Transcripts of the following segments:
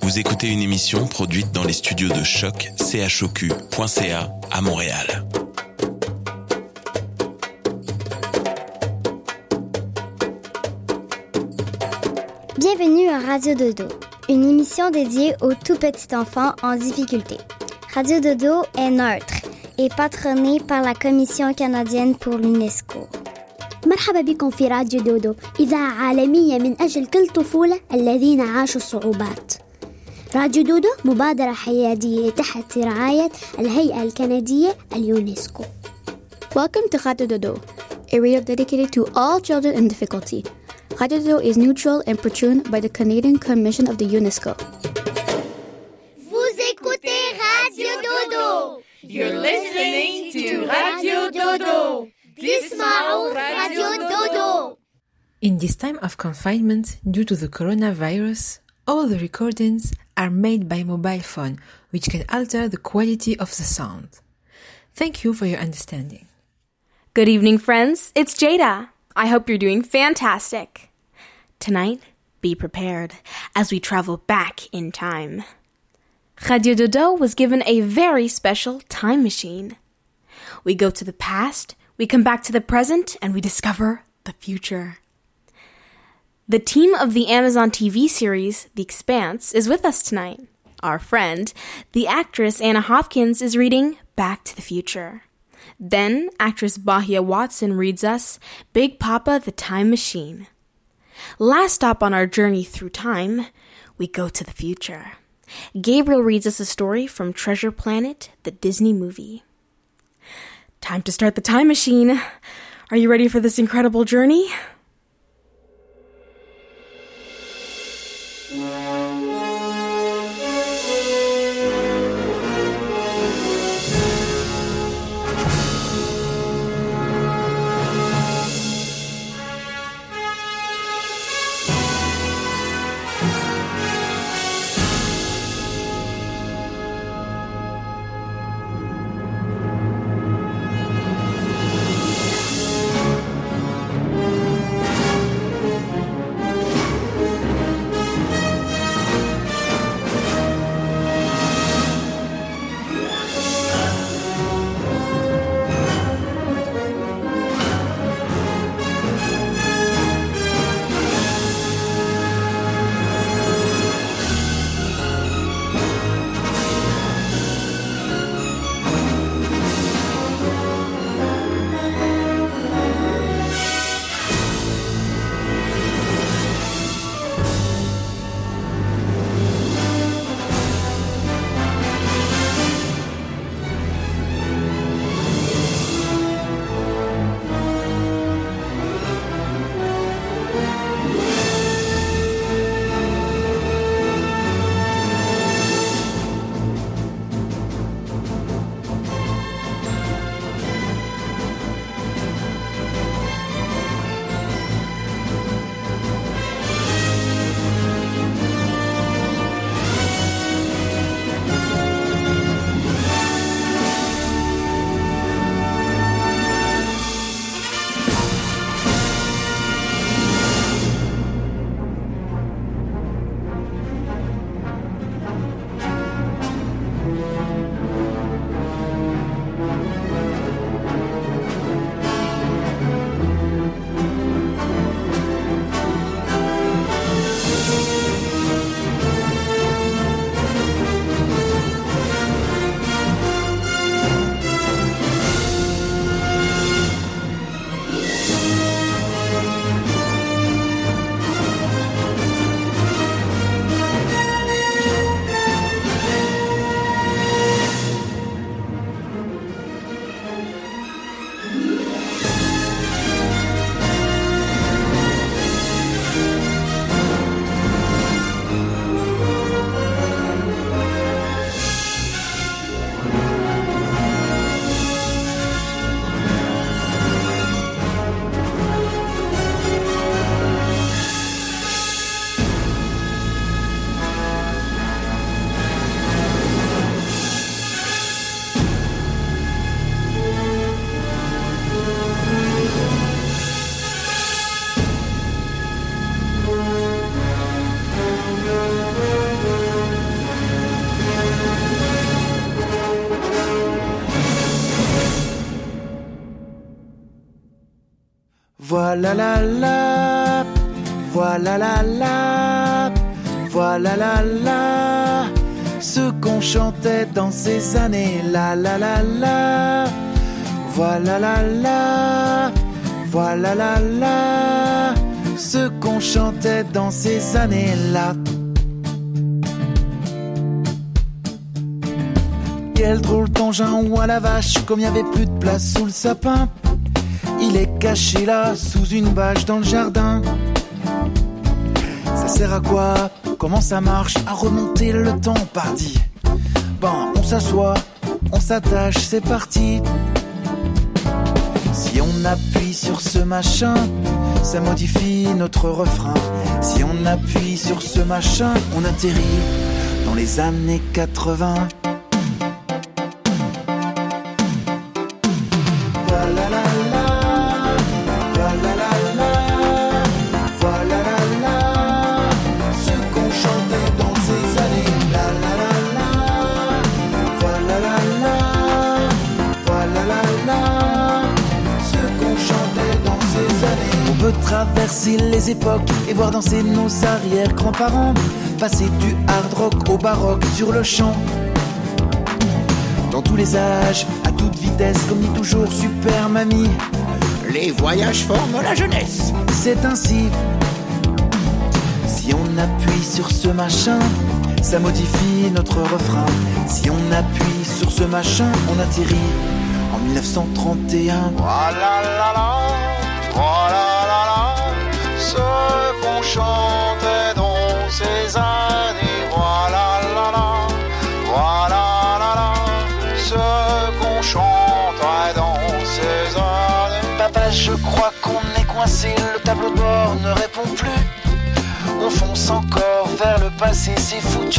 Vous écoutez une émission produite dans les studios de Choc, choq.ca à Montréal. Bienvenue à Radio Dodo, une émission dédiée aux tout petits enfants en difficulté. Radio Dodo est neutre et patronnée par la Commission canadienne pour l'UNESCO. مرحبا بكم في راديو دودو، إذاعة عالمية من أجل كل طفولة الذين عاشوا الصعوبات. راديو دودو مبادرة حيادية تحت رعاية الهيئة الكندية اليونسكو. Welcome to Radio Dodo, a radio dedicated to all children in difficulty. Radio Dodo is neutral and patroned by the Canadian Commission of the UNESCO. Vous écoutez Radio Dodo. You're listening to Radio Dodo. تسمعوا Radio Dodo. In this time of confinement due to the coronavirus, all the recordings are made by mobile phone, which can alter the quality of the sound. Thank you for your understanding. Good evening, friends. It's Jada. I hope you're doing fantastic. Tonight, be prepared as we travel back in time. Radio Dodo was given a very special time machine. We go to the past, we come back to the present, and we discover the future. The team of the Amazon TV series, The Expanse, is with us tonight. Our friend, the actress Anna Hopkins, is reading Back to the Future. Then, actress Bahia Watson reads us Big Papa, the Time Machine. Last stop on our journey through time, we go to the future. Gabriel reads us a story from Treasure Planet, the Disney movie. Time to start the time machine. Are you ready for this incredible journey? Voilà la la, voilà la la, voilà la la, ce qu'on chantait dans ces années, la la la la. Voilà la la, voilà la la, ce qu'on chantait dans ces années-là. Quel drôle d'engin ou à la vache, comme il n'y avait plus de place sous le sapin. Il est caché là, sous une bâche dans le jardin. Ça sert à quoi? Comment ça marche? À remonter le temps, pardi. Bon, on s'assoit, on s'attache, c'est parti. Si on appuie sur ce machin, ça modifie notre refrain. Si on appuie sur ce machin, on atterrit dans les années 80. Voilà la la, voilà la la, voilà la la, ce qu'on chantait dans ces années. La la la la, voilà la la, voilà la la, ce qu'on chantait dans ces années. On peut traverser les époques et voir danser nos arrière-grands-parents, passer du hard rock au baroque sur le champ. Dans tous les âges, à toute vitesse, comme dit toujours Super Mamie, les voyages forment la jeunesse. C'est ainsi. Si on appuie sur ce machin, ça modifie notre refrain. Si on appuie sur ce machin, on atterrit en 1931. Voilà la la, voilà la la, ce qu'on chantait dans ces années. Voilà la la, voilà la la, ce qu'on chantait dans ces années. Papa, je crois qu'on est coincé, le tableau de bord ne répond plus. On fonce encore vers le passé, c'est foutu.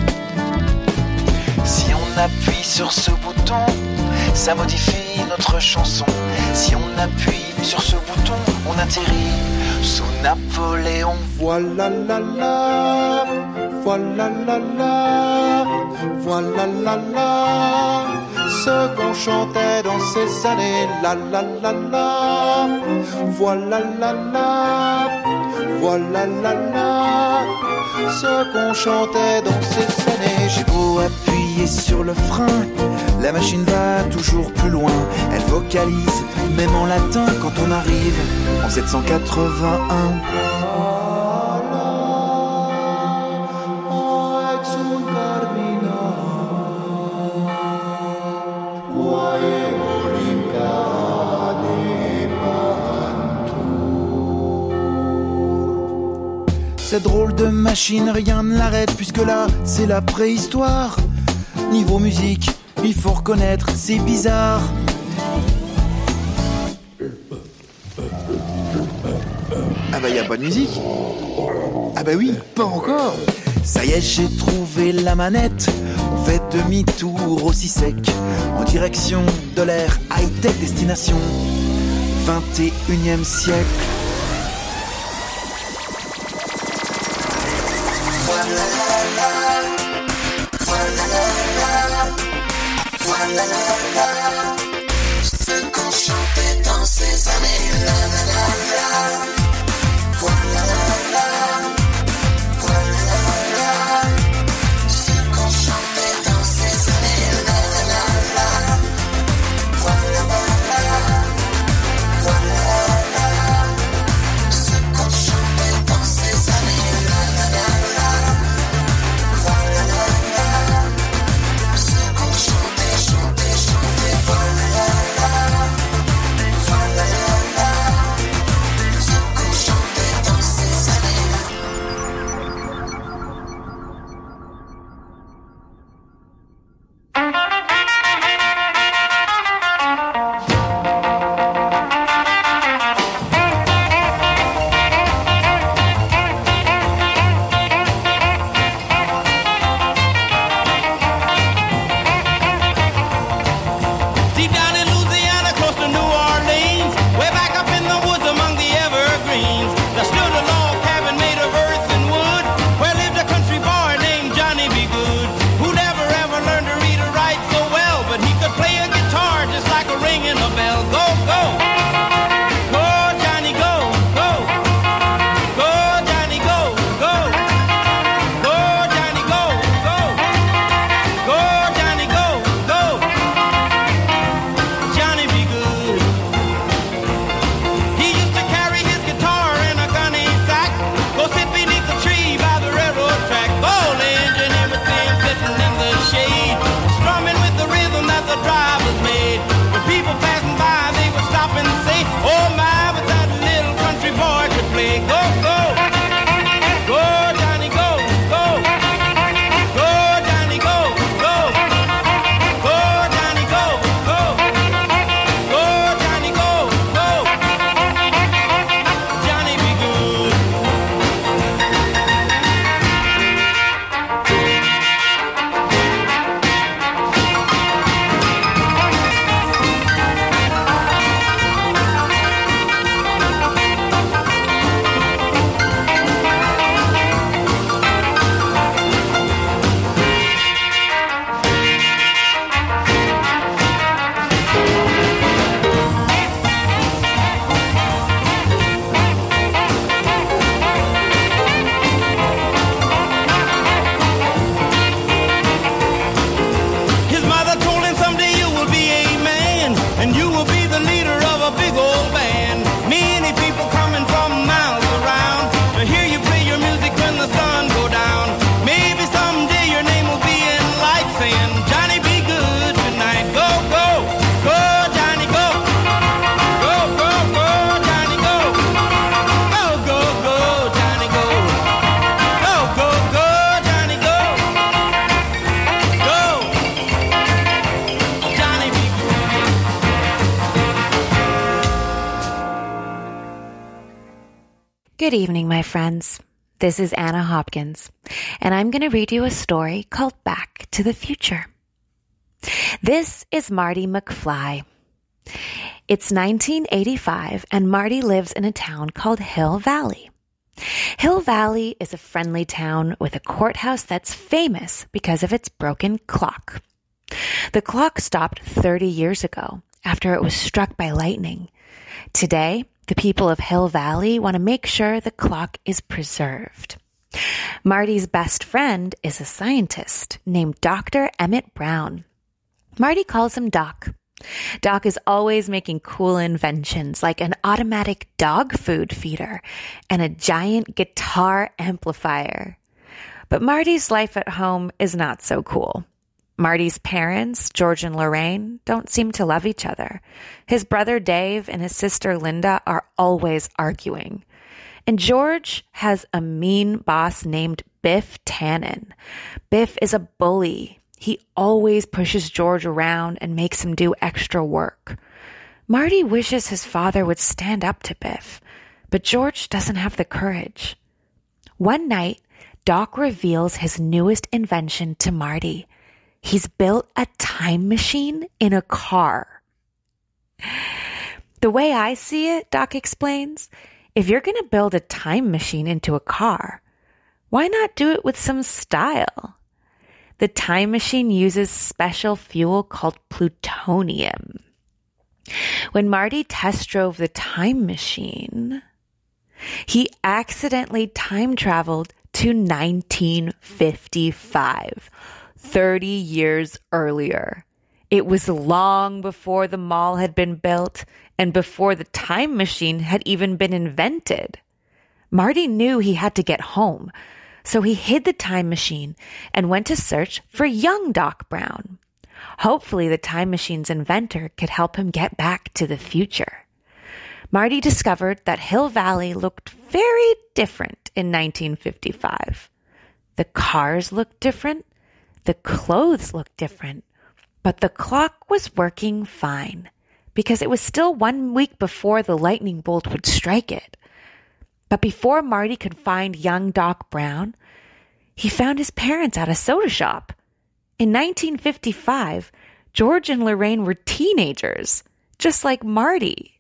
Si on appuie sur ce bouton, ça modifie notre chanson. Si on appuie sur ce bouton, on atterrit sous Napoléon. Voilà la la, voilà la la, voilà la la, ce qu'on chantait dans ces années. La la la la, voilà la la, voilà la la, ce qu'on chantait dans ces années. J'ai beau appuyer sur le frein, la machine va toujours plus loin. Elle vocalise, même en latin, quand on arrive en 781. Cette drôle de machine, rien ne l'arrête, puisque là, c'est la préhistoire. Niveau musique, il faut reconnaître, c'est bizarre. Ah bah y a pas de musique. Ah bah oui, pas encore. Ça y est, j'ai trouvé la manette. On fait demi-tour aussi sec, en direction de l'ère high-tech, destination 21e siècle. Ce qu'on chantait dans ces années, la la la la. Voilà la la, voilà la la. Ce qu'on chantait dans ces années, la la la la. Voilà la la, voilà la la. Ce qu'on chantait dans ces années, la la la la. Voilà la la, ce qu'on chantait, chantait, chantait. Voilà la la, voilà la la. Good evening, my friends. This is Anna Hopkins, and I'm going to read you a story called Back to the Future. This is Marty McFly. It's 1985, and Marty lives in a town called Hill Valley. Hill Valley is a friendly town with a courthouse that's famous because of its broken clock. The clock stopped 30 years ago after it was struck by lightning. Today, the people of Hill Valley want to make sure the clock is preserved. Marty's best friend is a scientist named Dr. Emmett Brown. Marty calls him Doc. Doc is always making cool inventions like an automatic dog food feeder and a giant guitar amplifier. But Marty's life at home is not so cool. Marty's parents, George and Lorraine, don't seem to love each other. His brother Dave and his sister Linda are always arguing. And George has a mean boss named Biff Tannen. Biff is a bully. He always pushes George around and makes him do extra work. Marty wishes his father would stand up to Biff, but George doesn't have the courage. One night, Doc reveals his newest invention to Marty. He's built a time machine in a car. The way I see it, Doc explains, if you're going to build a time machine into a car, why not do it with some style? The time machine uses special fuel called plutonium. When Marty test drove the time machine, he accidentally time traveled to 1955. 30 years earlier. It was long before the mall had been built and before the time machine had even been invented. Marty knew he had to get home, so he hid the time machine and went to search for young Doc Brown. Hopefully, the time machine's inventor could help him get back to the future. Marty discovered that Hill Valley looked very different in 1955. The cars looked different. The clothes looked different, but the clock was working fine because it was still 1 week before the lightning bolt would strike it. But before Marty could find young Doc Brown, he found his parents at a soda shop. In 1955, George and Lorraine were teenagers, just like Marty.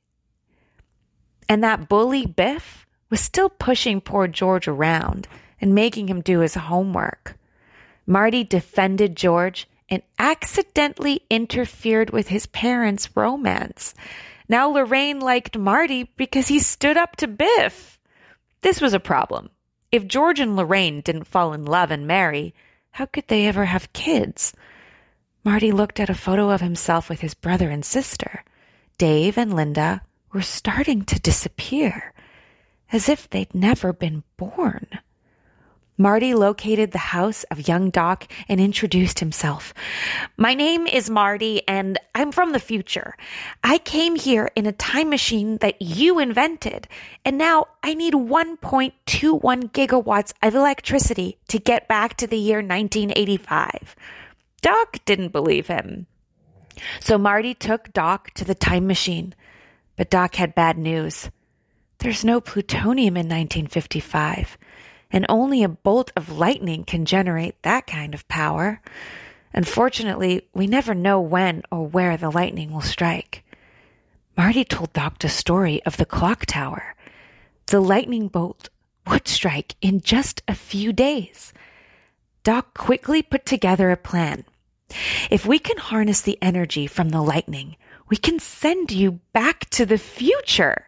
And that bully Biff was still pushing poor George around and making him do his homework. Marty defended George and accidentally interfered with his parents' romance. Now Lorraine liked Marty because he stood up to Biff. This was a problem. If George and Lorraine didn't fall in love and marry, how could they ever have kids? Marty looked at a photo of himself with his brother and sister. Dave and Linda were starting to disappear, as if they'd never been born. Marty located the house of young Doc and introduced himself. My name is Marty, and I'm from the future. I came here in a time machine that you invented, and now I need 1.21 gigawatts of electricity to get back to the year 1985. Doc didn't believe him. So Marty took Doc to the time machine, but Doc had bad news. There's no plutonium in 1955. And only a bolt of lightning can generate that kind of power. Unfortunately, we never know when or where the lightning will strike. Marty told Doc the story of the clock tower. The lightning bolt would strike in just a few days. Doc quickly put together a plan. If we can harness the energy from the lightning, we can send you back to the future.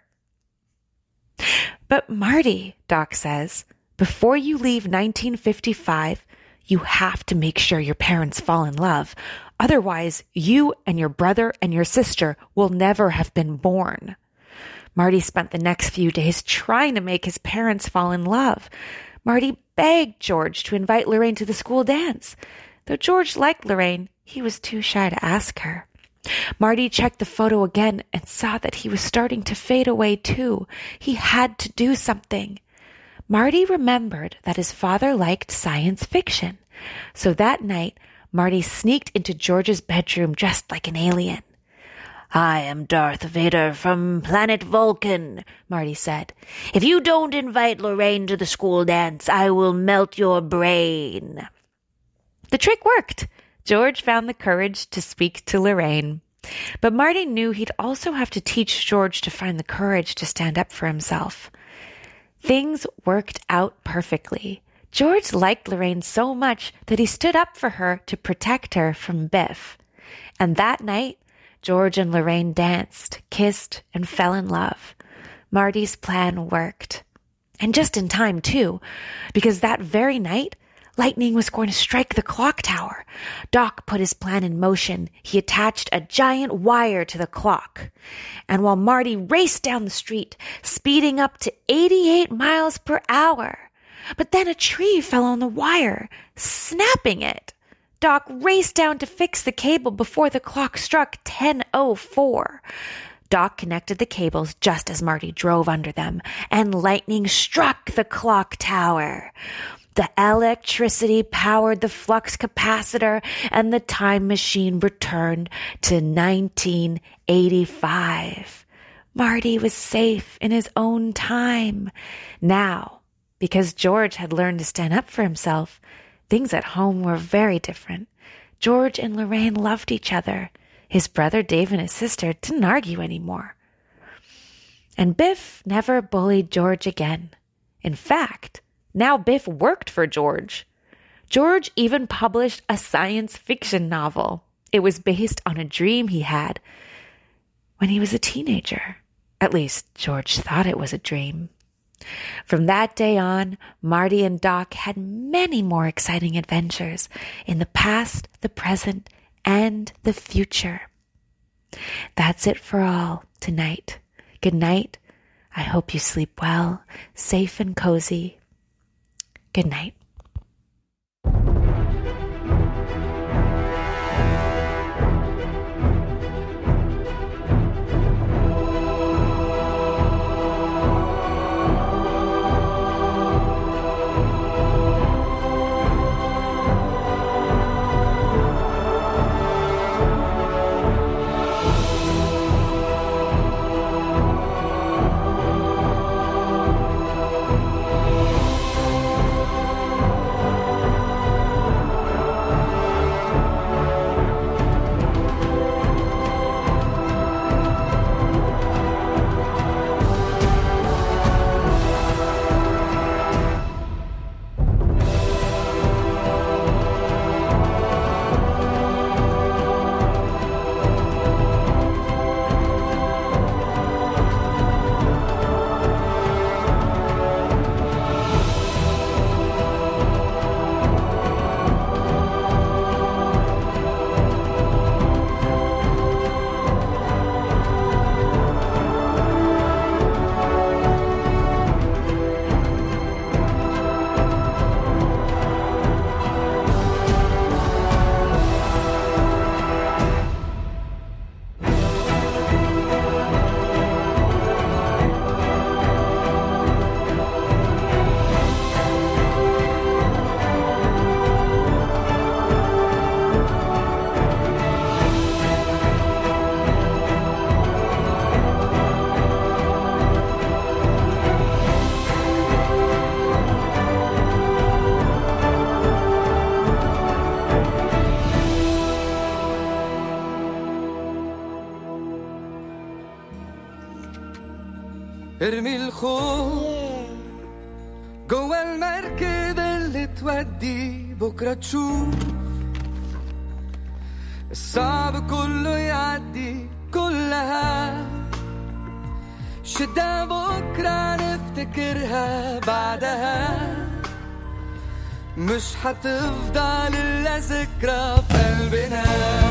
But Marty, Doc says, before you leave 1955, you have to make sure your parents fall in love. Otherwise, you and your brother and your sister will never have been born. Marty spent the next few days trying to make his parents fall in love. Marty begged George to invite Lorraine to the school dance. Though George liked Lorraine, he was too shy to ask her. Marty checked the photo again and saw that he was starting to fade away too. He had to do something. Marty remembered that his father liked science fiction. So that night, Marty sneaked into George's bedroom dressed like an alien. I am Darth Vader from planet Vulcan, Marty said. If you don't invite Lorraine to the school dance, I will melt your brain. The trick worked. George found the courage to speak to Lorraine. But Marty knew he'd also have to teach George to find the courage to stand up for himself. Things worked out perfectly. George liked Lorraine so much that he stood up for her to protect her from Biff. And that night, George and Lorraine danced, kissed, and fell in love. Marty's plan worked. And just in time, too, because that very night, lightning was going to strike the clock tower. Doc put his plan in motion. He attached a giant wire to the clock. And while Marty raced down the street, speeding up to 88 miles per hour, but then a tree fell on the wire, snapping it. Doc raced down to fix the cable before the clock struck 10:04. Doc connected the cables just as Marty drove under them, and lightning struck the clock tower. The electricity powered the flux capacitor, and the time machine returned to 1985. Marty was safe in his own time. Now, because George had learned to stand up for himself, things at home were very different. George and Lorraine loved each other. His brother Dave and his sister didn't argue anymore. And Biff never bullied George again. In fact, now Biff worked for George. George even published a science fiction novel. It was based on a dream he had when he was a teenager. At least George thought it was a dream. From that day on, Marty and Doc had many more exciting adventures in the past, the present, and the future. That's it for all tonight. Good night. I hope you sleep well, safe and cozy. Good night. ارمي الخوف جوا المركب اللي تودي بكرة تشوف الصعب كله يعدي كلها شدة بكرة نفتكرها بعدها مش هتفضل إلا ذكرى في قلبنا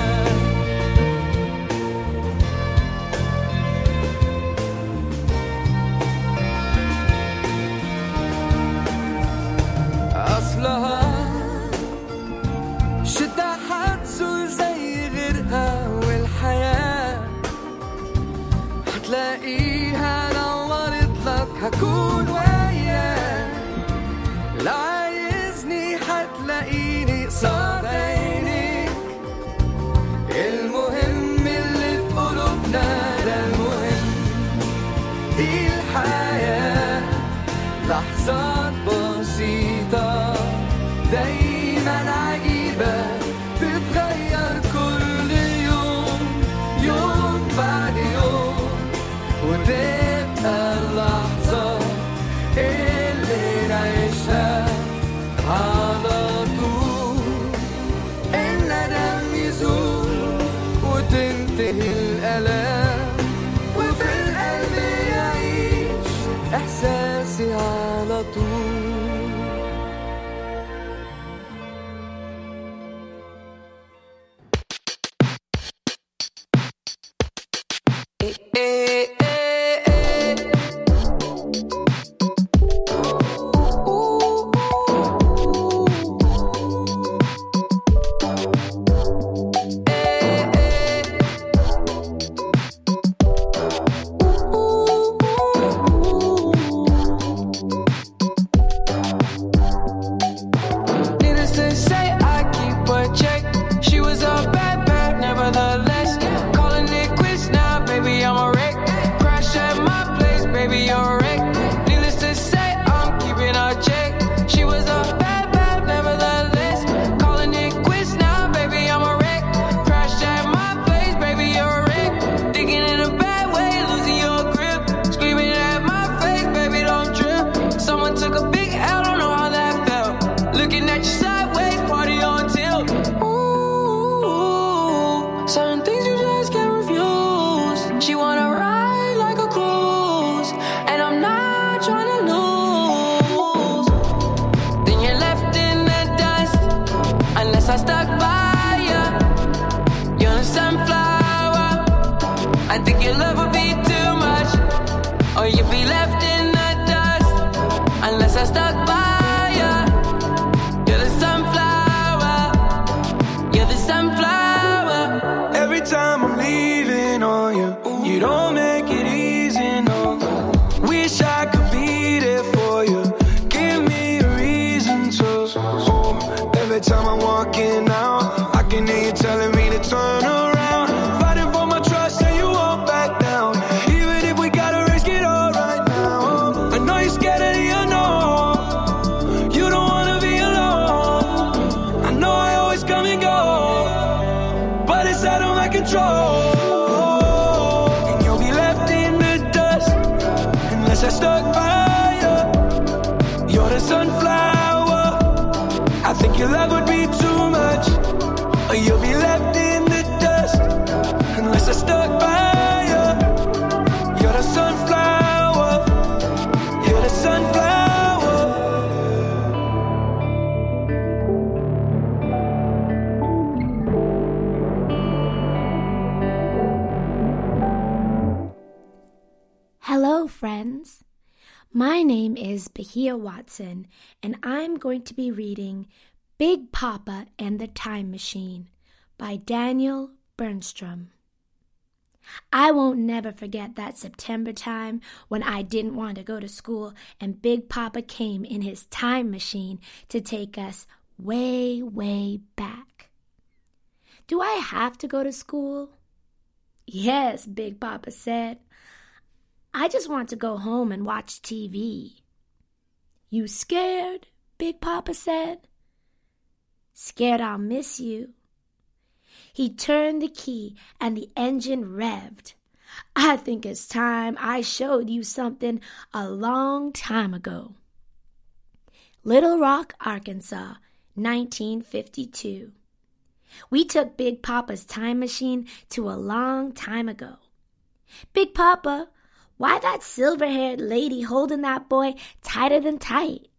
أصلها شدة حتزول زي غيرها والحياة هتلاقيها نورت لك هكون وياك لا عايزني هتلاقيني قصاد عينيك المهم اللي في قلوبنا لحظات بسيطة دايما عجيبة تتغير كل يوم يوم بعد يوم وتبقى اللحظة اللي نعيشها على طول الندم يزول وتنتهي الآلام وفي القلب يعيش إحساسي على طول. Hello, friends. My name is Bahia Watson, and I'm going to be reading Big Papa and the Time Machine by Daniel Bernstrom. I won't never forget that September time when I didn't want to go to school and Big Papa came in his time machine to take us way, way back. Do I have to go to school? Yes, Big Papa said. I just want to go home and watch TV. You scared? Big Papa said. Scared I'll miss you. He turned the key and the engine revved. I think it's time I showed you something a long time ago. Little Rock, Arkansas, 1952. We took Big Papa's time machine to a long time ago. Big Papa, why that silver-haired lady holding that boy tighter than tight?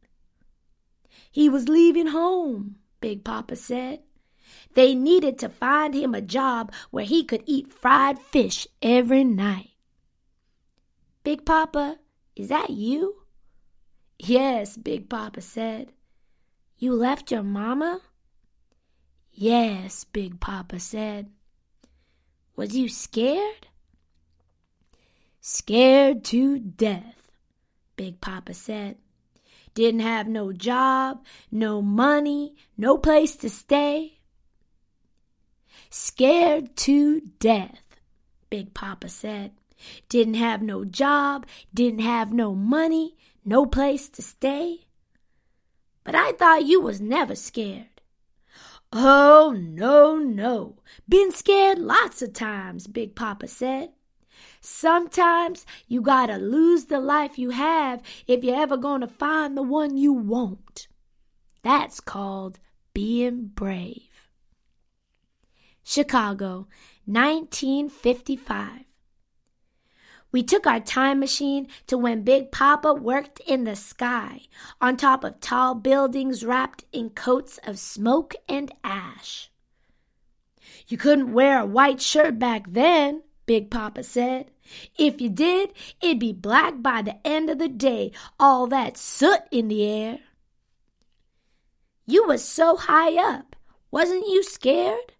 He was leaving home, Big Papa said. They needed to find him a job where he could eat fried fish every night. Big Papa, is that you? Yes, Big Papa said. You left your mama? Yes, Big Papa said. Was you scared? Scared to death, Big Papa said. Didn't have no job, no money, no place to stay. Scared to death, Big Papa said. Didn't have no job, didn't have no money, No place to stay? But I thought you was never scared. Oh, no. Been scared lots of times, Big Papa said. Sometimes you gotta lose the life you have if you're ever gonna find the one you want. That's called being brave. Chicago, 1955. We took our time machine to when Big Papa worked in the sky, on top of tall buildings wrapped in coats of smoke and ash. You couldn't wear a white shirt back then, Big Papa said. If you did, it'd be black by the end of the day, all that soot in the air. You was so high up, wasn't you scared?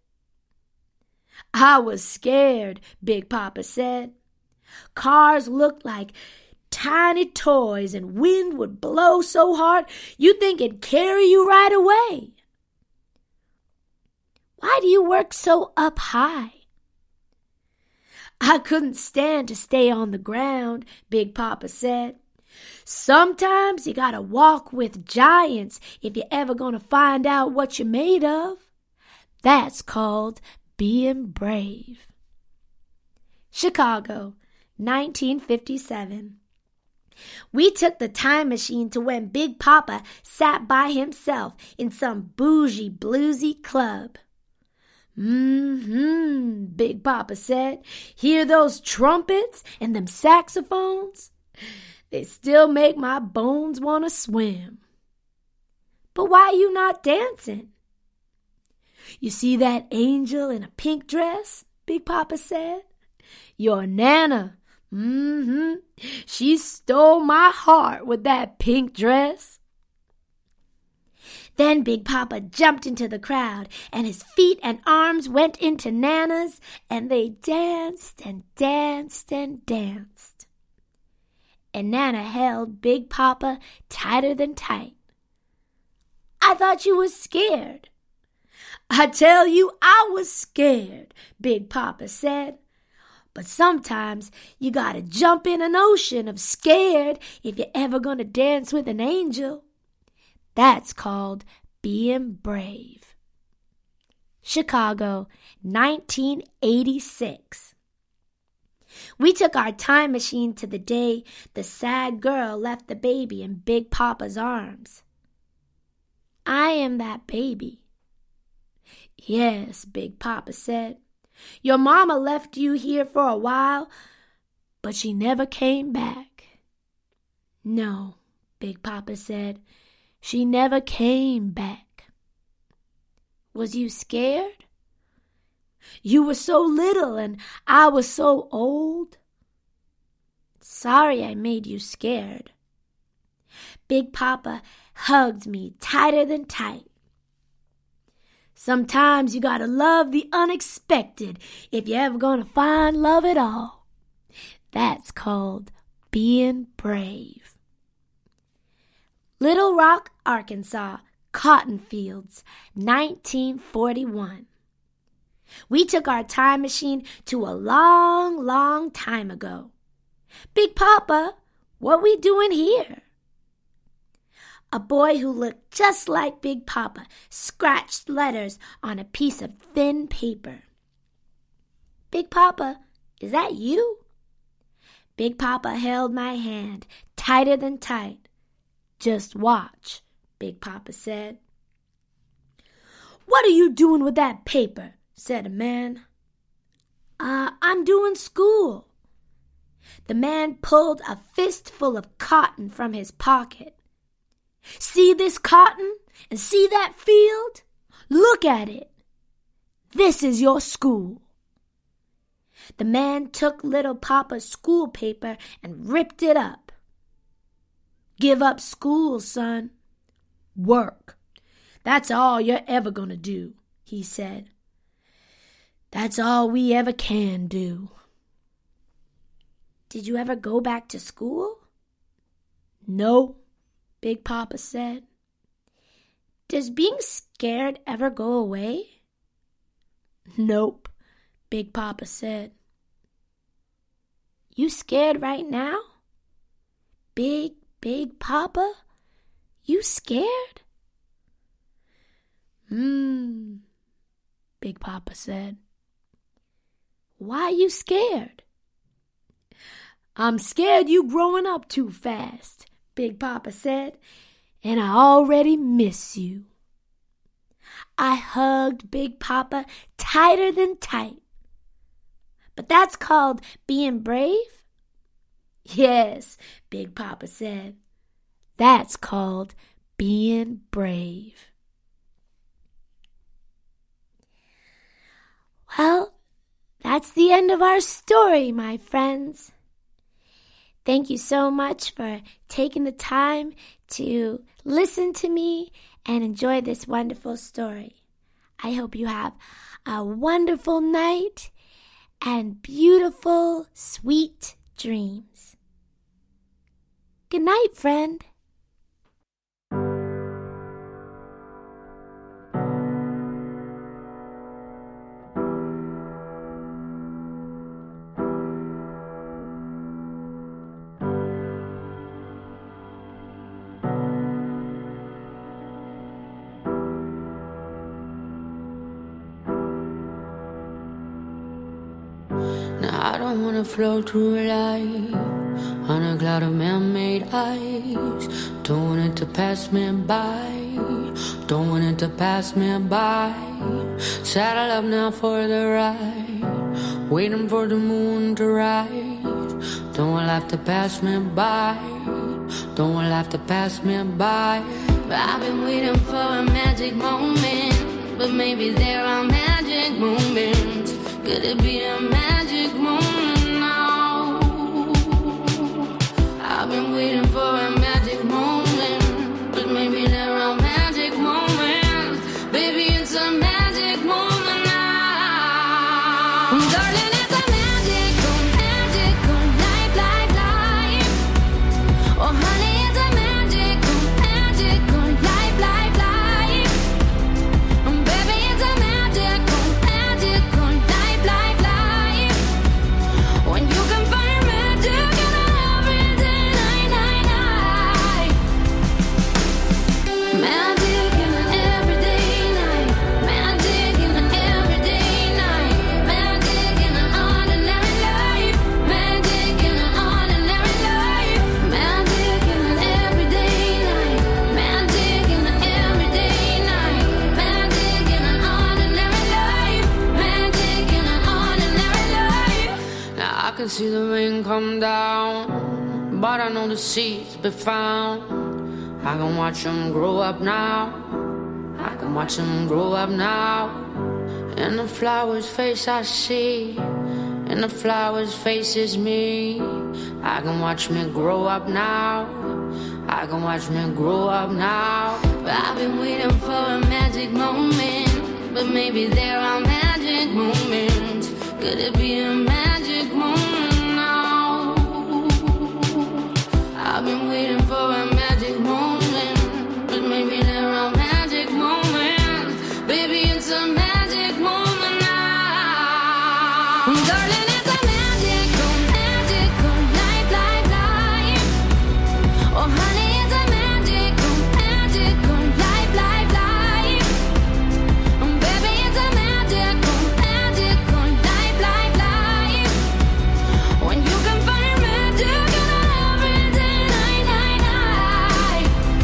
I was scared, Big Papa said. Cars looked like tiny toys and wind would blow so hard you'd think it'd carry you right away. Why do you work so up high? I couldn't stand to stay on the ground, Big Papa said. Sometimes you gotta walk with giants if you're ever gonna find out what you're made of. That's called being brave. Chicago, 1957. We took the time machine to when Big Papa sat by himself in some bougie bluesy club. Big Papa said. Hear those trumpets and them saxophones? They still make my bones want to swim. But why you not dancing? You see that angel in a pink dress? Big Papa said. Your Nana. She stole my heart with that pink dress. Then Big Papa jumped into the crowd, and his feet and arms went into Nana's, and they danced and danced and danced. And Nana held Big Papa tighter than tight. I thought you was scared. I tell you, I was scared, Big Papa said. But sometimes you gotta jump in an ocean of scared if you're ever gonna dance with an angel. That's called being brave. Chicago, 1986. We took our time machine to the day the sad girl left the baby in Big Papa's arms. I am that baby. Yes, Big Papa said. Your mama left you here for a while, but she never came back. No, Big Papa said. She never came back. Was you scared? You were so little and I was so old. Sorry I made you scared. Big Papa hugged me tighter than tight. Sometimes you gotta love the unexpected if you're ever gonna find love at all. That's called being brave. Little Rock, Arkansas, cotton fields, 1941. We took our time machine to a long, long time ago. Big Papa, what we doing here? A boy who looked just like Big Papa scratched letters on a piece of thin paper. Big Papa, is that you? Big Papa held my hand tighter than tight. Just watch, Big Papa said. What are you doing with that paper? Said a man. I'm doing school. The man pulled a fistful of cotton from his pocket. See this cotton and see that field? Look at it. This is your school. The man took little Papa's school paper and ripped it up. Give up school, son. Work. That's all you're ever gonna do, he said. That's all we ever can do. Did you ever go back to school? No, Big Papa said. Does being scared ever go away? Nope, Big Papa said. You scared right now? Big, Big Papa, you scared? Big Papa said. Why you scared? I'm scared you growing up too fast, Big Papa said, and I already miss you. I hugged Big Papa tighter than tight. But that's called being brave? Yes, Big Papa said. That's called being brave. Well, that's the end of our story, my friends. Thank you so much for taking the time to listen to me and enjoy this wonderful story. I hope you have a wonderful night and beautiful, sweet dreams. Good night, friend. I don't wanna float through life on a cloud of man-made ice. Don't want it to pass me by. Don't want it to pass me by. Saddle up now for the ride, waiting for the moon to rise. Don't want life to pass me by. Don't want life to pass me by. I've been waiting for a magic moment, but maybe there are magic moments. Could it be a magic moment now? I've been waiting for a magic moment, but maybe there are magic moments. Baby, it's a magic moment now. Darling, it's a magical, magical life, life, life. Oh, honey, it's a magical, magical life, life, life. Baby, it's a magical, magical life, life, life. When you can find magic in everyday night, night, night. Magic in an everyday night. Magic in an everyday night. Magic in an ordinary life. Magic in an ordinary life. Magic in an everyday night. Magic in an everyday night. Magic in an ordinary life. Magic in an ordinary life. Now I can see the rain come down, but I know the seeds be found. I can watch them grow up now. I can watch them grow up now. In the flower's face I see, in the flower's face is me. I can watch me grow up now. I can watch me grow up now. I've been waiting for a magic moment, but maybe there are magic moments. Could it be a magic moment now? I've been waiting for a magic moment, but maybe there are magic moments. Baby, it's a magic moment now. Darling, it's a magical, magical life, life, life. Oh, honey, it's a magical, magical life, life, life. Baby, it's a magical, magical life, life, life. When you can find magic in everyday night, night, night.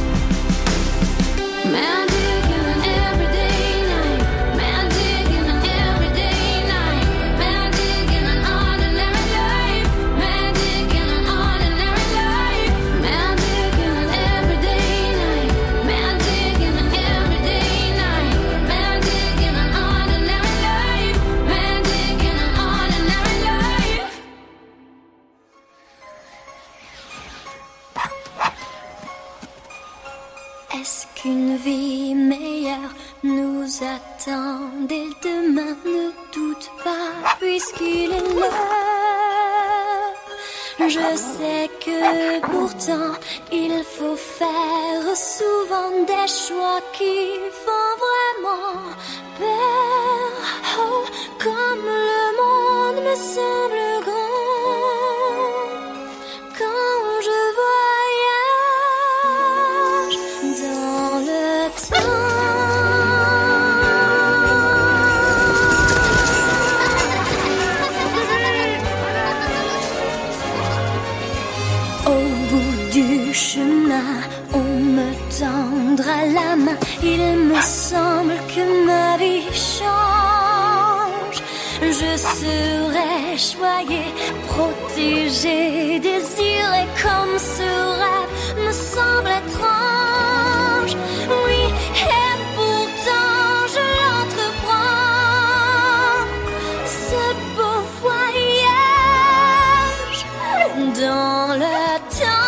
Magic in an everyday night. Magic in an everyday night. Magic in an ordinary life. Magic in an ordinary life. Magic in an everyday night. Magic in an everyday night. Magic in an ordinary life. Magic in an ordinary life. Est-ce qu'une vie meilleure nous attend dès demain? Ne doute pas, puisqu'il est l'heure. Je sais que pourtant il faut faire souvent des choix qui font vraiment peur. Oh, comme le monde me semble grand quand je voyage semble que ma vie change. Je serai choyée, protégée, désirée comme ce rêve me semble étrange. Oui, et pourtant je l'entreprends, ce beau voyage dans le temps.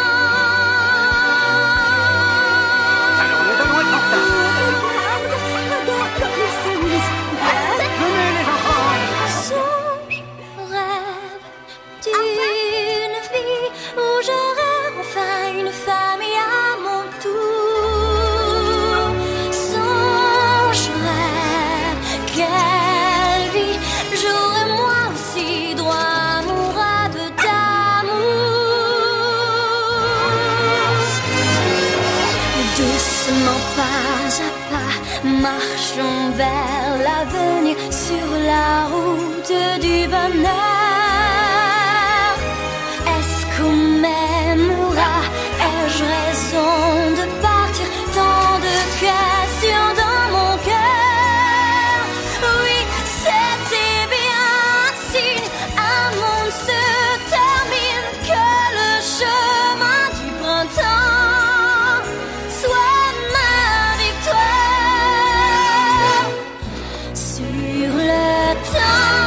Marchons vers l'avenir sur la route du bonheur. Est-ce qu'on m'aimera? Ai-je raison de partir? Tant de questions dans mon cœur. Oui, c'était bien un signe. Un monde se termine, que le chemin du printemps soit ma victoire. Sur le temps.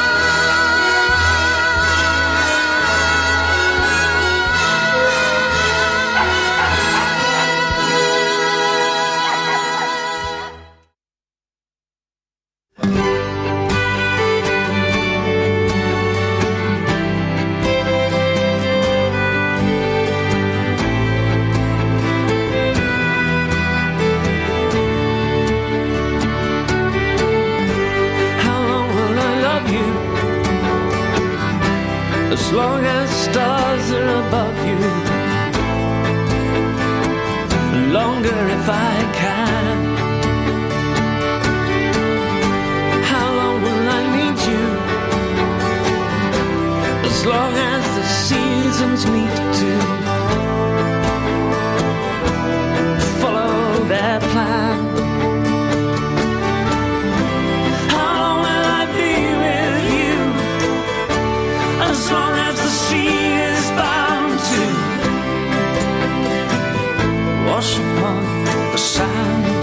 As long as stars are above you, longer if I can. How long will I need you? As long as the seasons meet to follow their plan. As long as the sea is bound to wash upon the sand.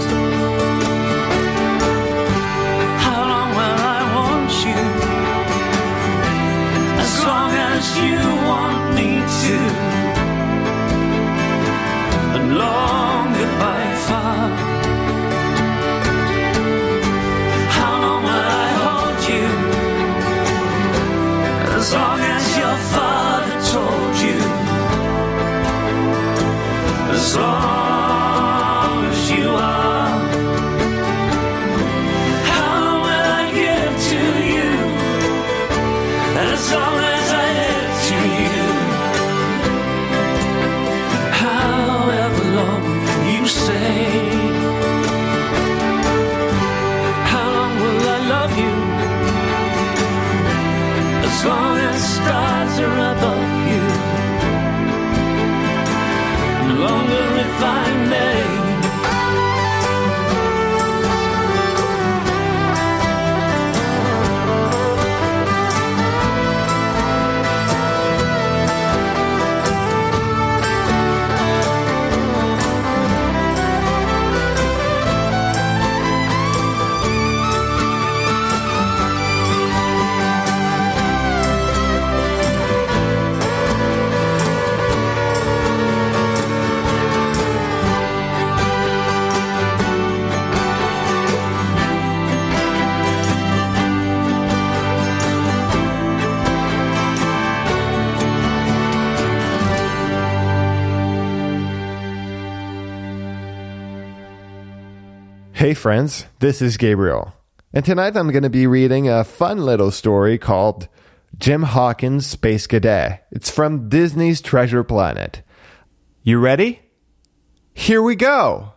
How long will I want you? As long as you want me to. And long goodbye far. How long will I hold you? As long as your father told you. As long as you are. How long will I give to you? As long as I live to you. However long you say. How long will I love you? As long as stars are above you, longer if I may. Hey friends, this is Gabriel, and tonight I'm going to be reading a fun little story called Jim Hawkins' Space Cadet. It's from Disney's Treasure Planet. You ready? Here we go!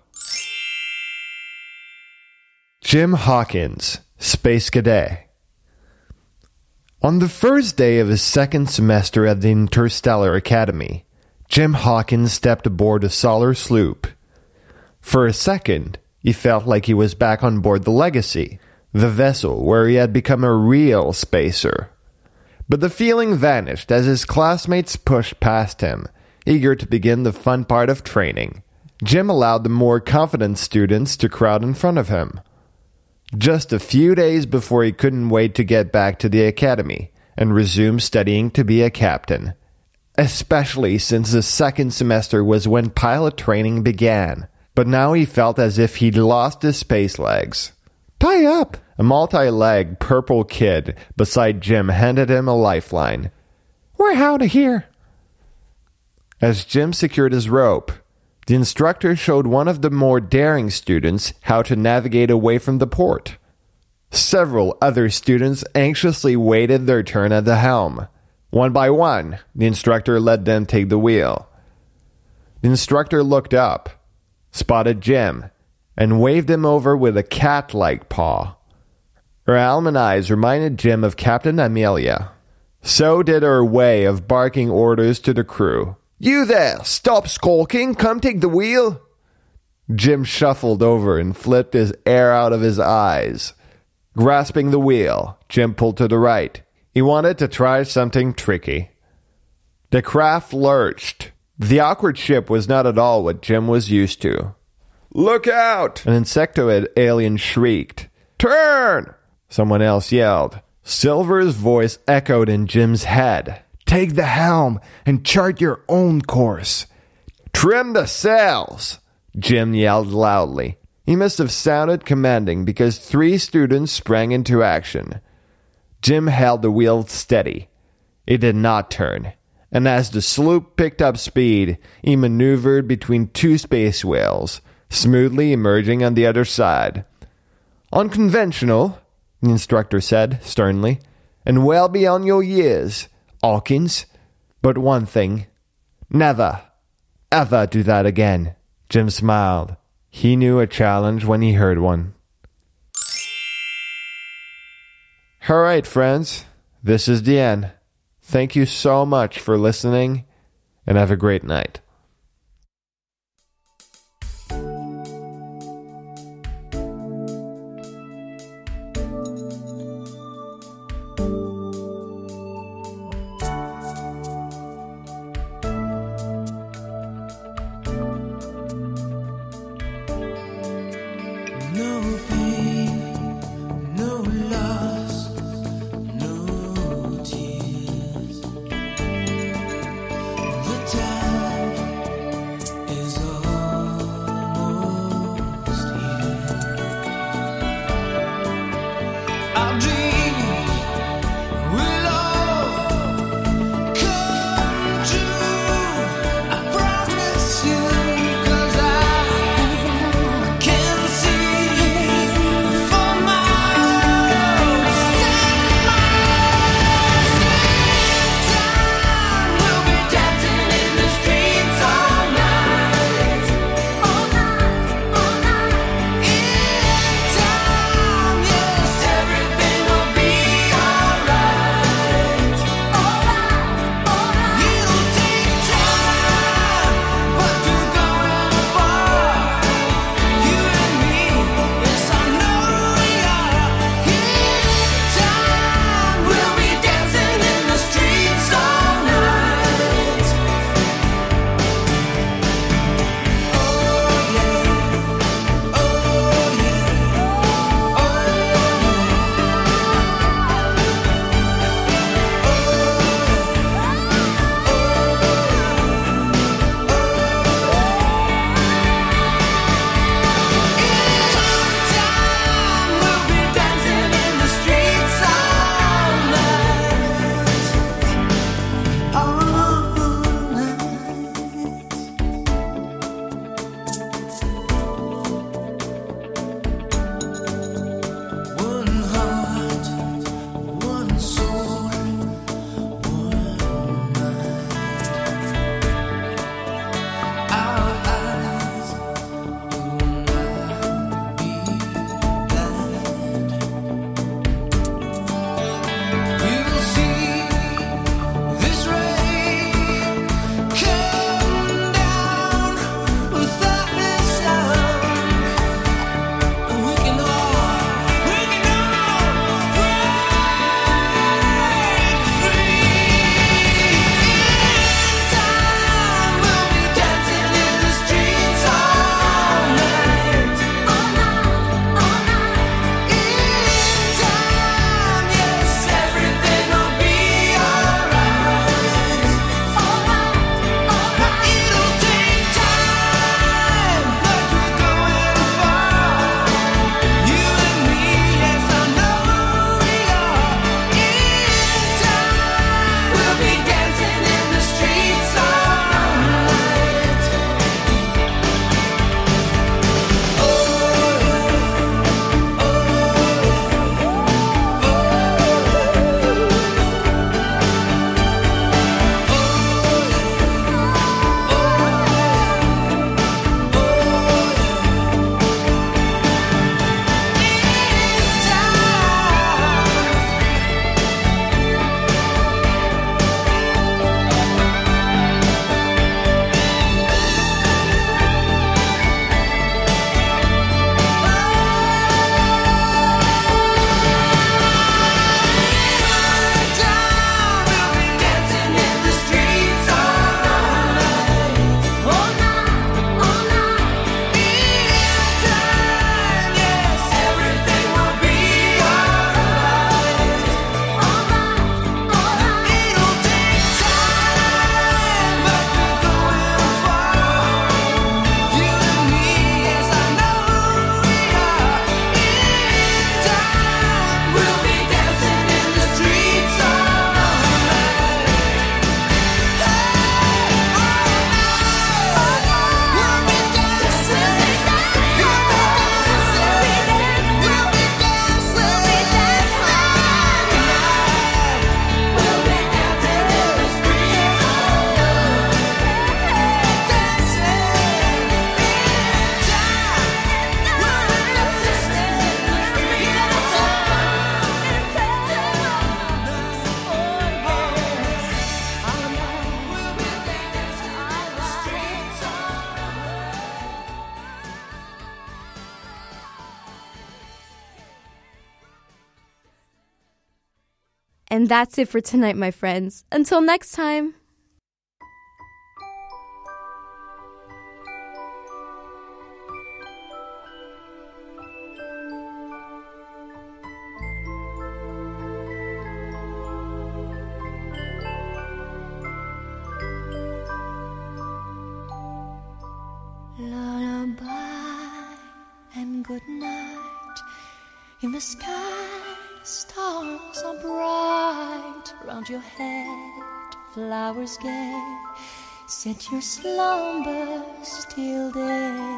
Jim Hawkins, Space Cadet. On the first day of his second semester at the Interstellar Academy, Jim Hawkins stepped aboard a solar sloop. For a second, He felt like he was back on board the Legacy, the vessel where he had become a real spacer. But the feeling vanished as his classmates pushed past him, eager to begin the fun part of training. Jim allowed the more confident students to crowd in front of him. Just a few days before he couldn't wait to get back to the academy and resume studying to be a captain, especially since the second semester was when pilot training began. But now he felt as if he'd lost his space legs. "Tie up!" A multi-legged purple kid beside Jim handed him a lifeline. "We're out of here." As Jim secured his rope, the instructor showed one of the more daring students how to navigate away from the port. Several other students anxiously waited their turn at the helm. One by one, the instructor let them take the wheel. The instructor looked up, spotted Jim, and waved him over with a cat-like paw. Her almond eyes reminded Jim of Captain Amelia. So did her way of barking orders to the crew. "You there! Stop skulking! Come take the wheel!" Jim shuffled over and flipped his air out of his eyes. Grasping the wheel, Jim pulled to the right. He wanted to try something tricky. The craft lurched. The awkward ship was not at all what Jim was used to. "Look out!" An insectoid alien shrieked. "Turn!" Someone else yelled. Silver's voice echoed in Jim's head. "Take the helm and chart your own course." "Trim the sails!" Jim yelled loudly. He must have sounded commanding because 3 students sprang into action. Jim held the wheel steady. It did not turn, and as the sloop picked up speed, he maneuvered between 2 space whales, smoothly emerging on the other side. "Unconventional," the instructor said sternly, "and well beyond your years, Hawkins. But one thing, never, ever do that again." Jim smiled. He knew a challenge when he heard one. All right, friends, this is the end. Thank you so much for listening, and have a great night. No pain, no loss, no tears. The time is almost here. Our dreams will all come true. I promise you, 'cause I can see And that's it for tonight, my friends. Until next time. Lullaby and good night. In the sky, stars are bright. Round your head, flowers gay. Set your slumbers till day.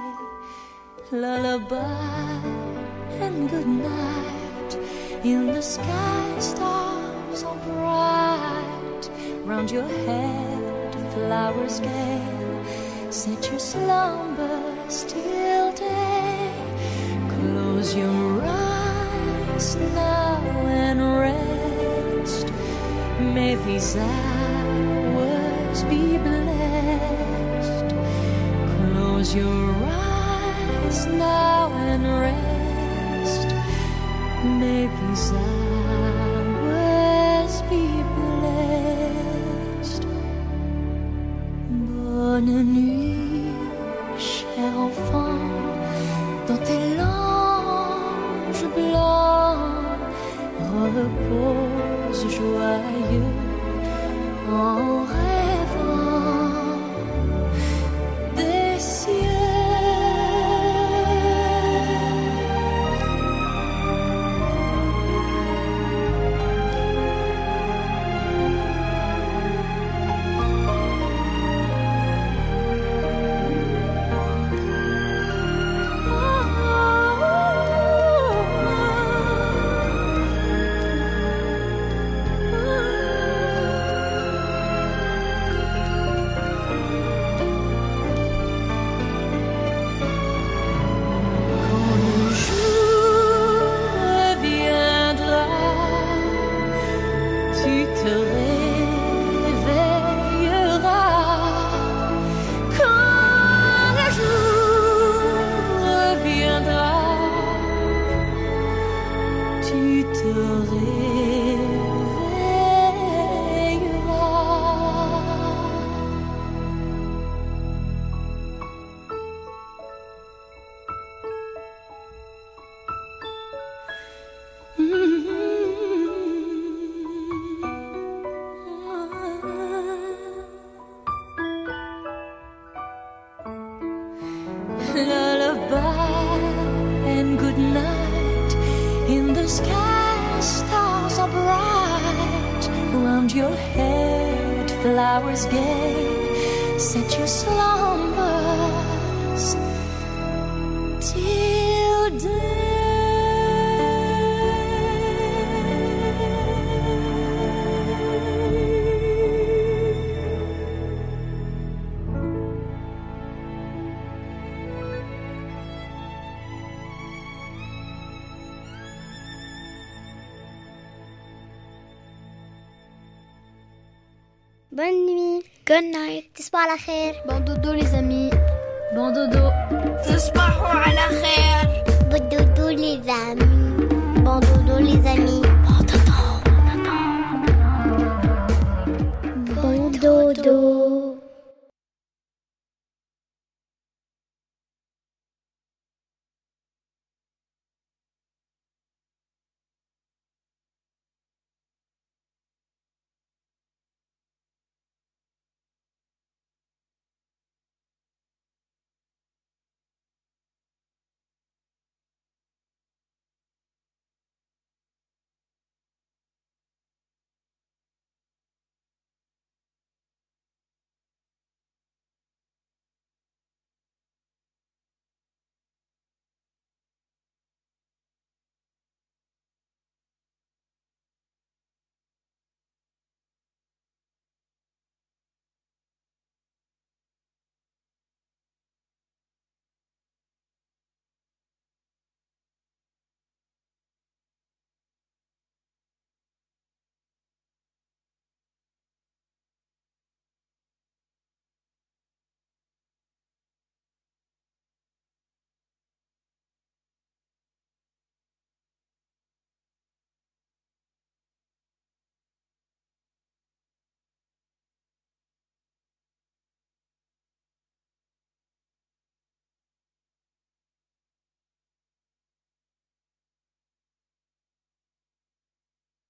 Lullaby and good night. In the sky, stars are bright. Round your head, flowers gay. Set your slumbers till day. Close your eyes now and rest. May these hours be blessed. Close your eyes now and rest. May these hours be blessed. Bonne nuit, cher enfant, dans tes langes blancs, repose joyeux en rêvant des cieux. Lullaby and good night. In the sky, stars are bright. Round your head, flowers gay. Set your slumbers till day. Bonne nuit. Good night. تصبحوا على خير. Bon dodo les amis. Bon dodo. تصبحوا على خير. Bon dodo les amis. Bon dodo les amis.